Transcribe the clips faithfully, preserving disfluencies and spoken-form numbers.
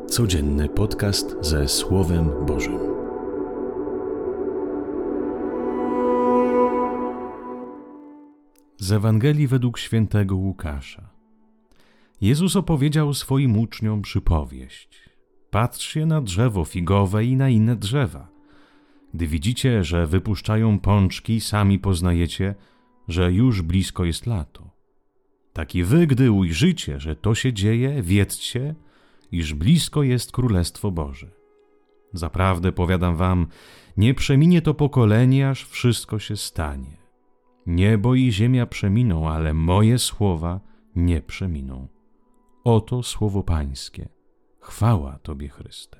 Codzienny podcast ze Słowem Bożym. Z Ewangelii według świętego Łukasza. Jezus opowiedział swoim uczniom przypowieść. Patrzcie na drzewo figowe i na inne drzewa. Gdy widzicie, że wypuszczają pączki, sami poznajecie, że już blisko jest lato. Tak i wy, gdy ujrzycie, że to się dzieje, wiedzcie, iż blisko jest Królestwo Boże. Zaprawdę powiadam wam, nie przeminie to pokolenie, aż wszystko się stanie. Niebo i ziemia przeminą, ale moje słowa nie przeminą. Oto słowo Pańskie. Chwała Tobie, Chryste.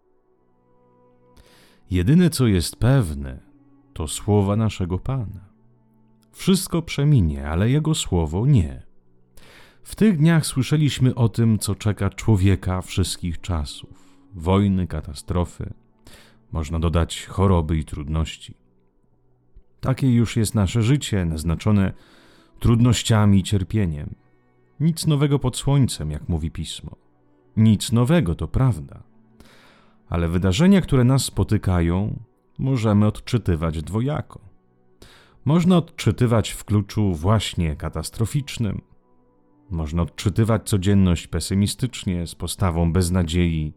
Jedyne, co jest pewne, to słowa naszego Pana. Wszystko przeminie, ale Jego słowo nie. W tych dniach słyszeliśmy o tym, co czeka człowieka wszystkich czasów. Wojny, katastrofy, można dodać choroby i trudności. Takie już jest nasze życie, naznaczone trudnościami i cierpieniem. Nic nowego pod słońcem, jak mówi Pismo. Nic nowego, to prawda. Ale wydarzenia, które nas spotykają, możemy odczytywać dwojako. Można odczytywać w kluczu właśnie katastroficznym. Można odczytywać codzienność pesymistycznie, z postawą beznadziei.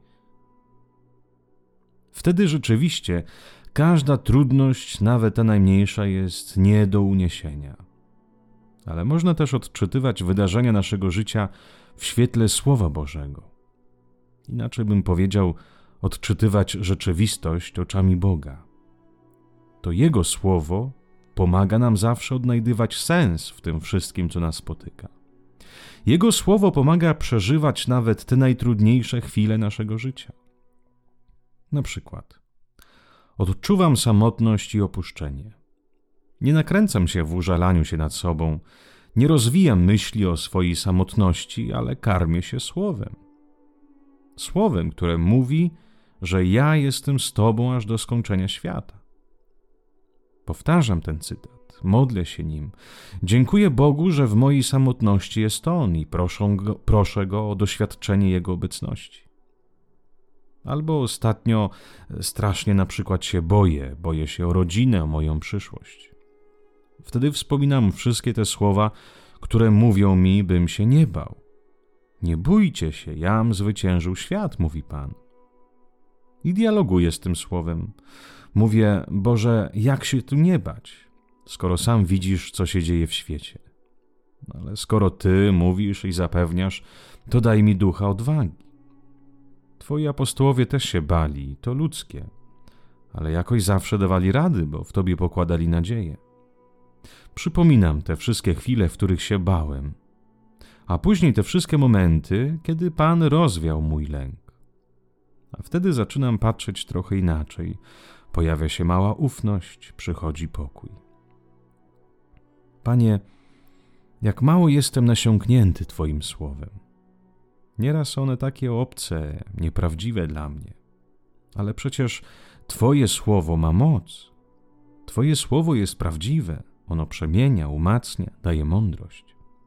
Wtedy rzeczywiście każda trudność, nawet ta najmniejsza, jest nie do uniesienia. Ale można też odczytywać wydarzenia naszego życia w świetle Słowa Bożego. Inaczej bym powiedział, odczytywać rzeczywistość oczami Boga. To Jego Słowo pomaga nam zawsze odnajdywać sens w tym wszystkim, co nas spotyka. Jego Słowo pomaga przeżywać nawet te najtrudniejsze chwile naszego życia. Na przykład, odczuwam samotność i opuszczenie. Nie nakręcam się w użalaniu się nad sobą, nie rozwijam myśli o swojej samotności, ale karmię się Słowem. Słowem, które mówi, że ja jestem z Tobą aż do skończenia świata. Powtarzam ten cytat. Modlę się nim. Dziękuję Bogu, że w mojej samotności jest On i proszę go, proszę Go o doświadczenie Jego obecności. Albo ostatnio strasznie na przykład się boję, boję się o rodzinę, o moją przyszłość. Wtedy wspominam wszystkie te słowa, które mówią mi, bym się nie bał. Nie bójcie się, jam zwyciężył świat, mówi Pan. I dialoguję z tym słowem. Mówię, Boże, jak się tu nie bać, skoro sam widzisz, co się dzieje w świecie. Ale skoro Ty mówisz i zapewniasz, to daj mi ducha odwagi. Twoi apostołowie też się bali, to ludzkie, ale jakoś zawsze dawali rady, bo w Tobie pokładali nadzieję. Przypominam te wszystkie chwile, w których się bałem, a później te wszystkie momenty, kiedy Pan rozwiał mój lęk. A wtedy zaczynam patrzeć trochę inaczej. Pojawia się mała ufność, przychodzi pokój. Panie, jak mało jestem nasiąknięty Twoim słowem. Nieraz one takie obce, nieprawdziwe dla mnie. Ale przecież Twoje słowo ma moc. Twoje słowo jest prawdziwe. Ono przemienia, umacnia, daje mądrość.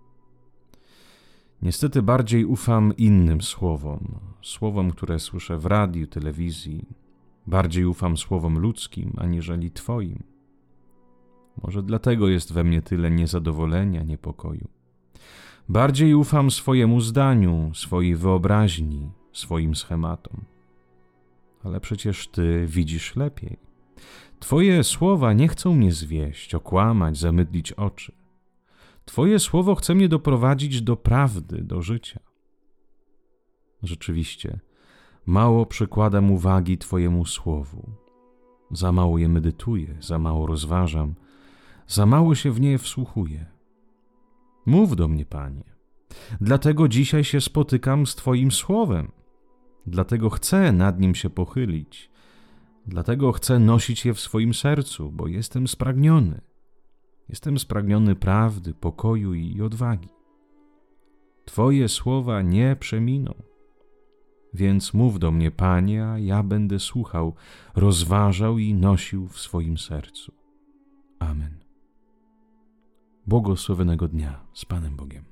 Niestety bardziej ufam innym słowom, słowom, które słyszę w radiu, telewizji. Bardziej ufam słowom ludzkim, aniżeli Twoim. Może dlatego jest we mnie tyle niezadowolenia, niepokoju. Bardziej ufam swojemu zdaniu, swojej wyobraźni, swoim schematom. Ale przecież Ty widzisz lepiej. Twoje słowa nie chcą mnie zwieść, okłamać, zamydlić oczy. Twoje słowo chce mnie doprowadzić do prawdy, do życia. Rzeczywiście, mało przykładam uwagi Twojemu słowu. Za mało je medytuję, za mało rozważam, za mało się w nie wsłuchuję. Mów do mnie, Panie. Dlatego dzisiaj się spotykam z Twoim słowem. Dlatego chcę nad nim się pochylić. Dlatego chcę nosić je w swoim sercu, bo jestem spragniony. Jestem spragniony prawdy, pokoju i odwagi. Twoje słowa nie przeminą. Więc mów do mnie, Panie, a ja będę słuchał, rozważał i nosił w swoim sercu. Amen. Błogosławionego dnia z Panem Bogiem.